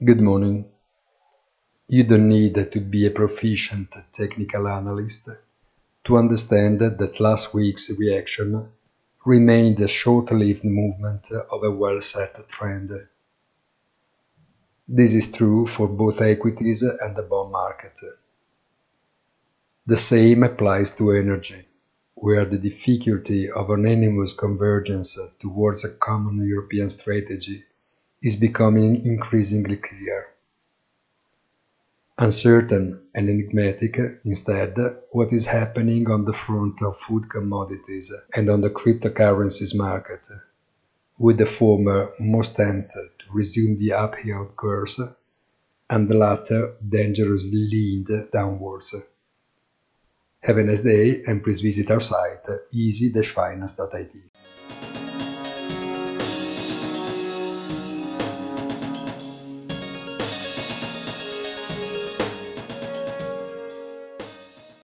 Good morning. You don't need to be a proficient technical analyst to understand that last week's reaction remained a short-lived movement of a well-set trend. This is true for both equities and the bond market. The same applies to energy, where the difficulty of unanimous convergence towards a common European strategy is becoming increasingly clear. Uncertain and enigmatic, instead, what is happening on the front of food commodities and on the cryptocurrencies market, with the former most tempted to resume the uphill course and the latter dangerously leaned downwards. Have a nice day and please visit our site easy-finance.it.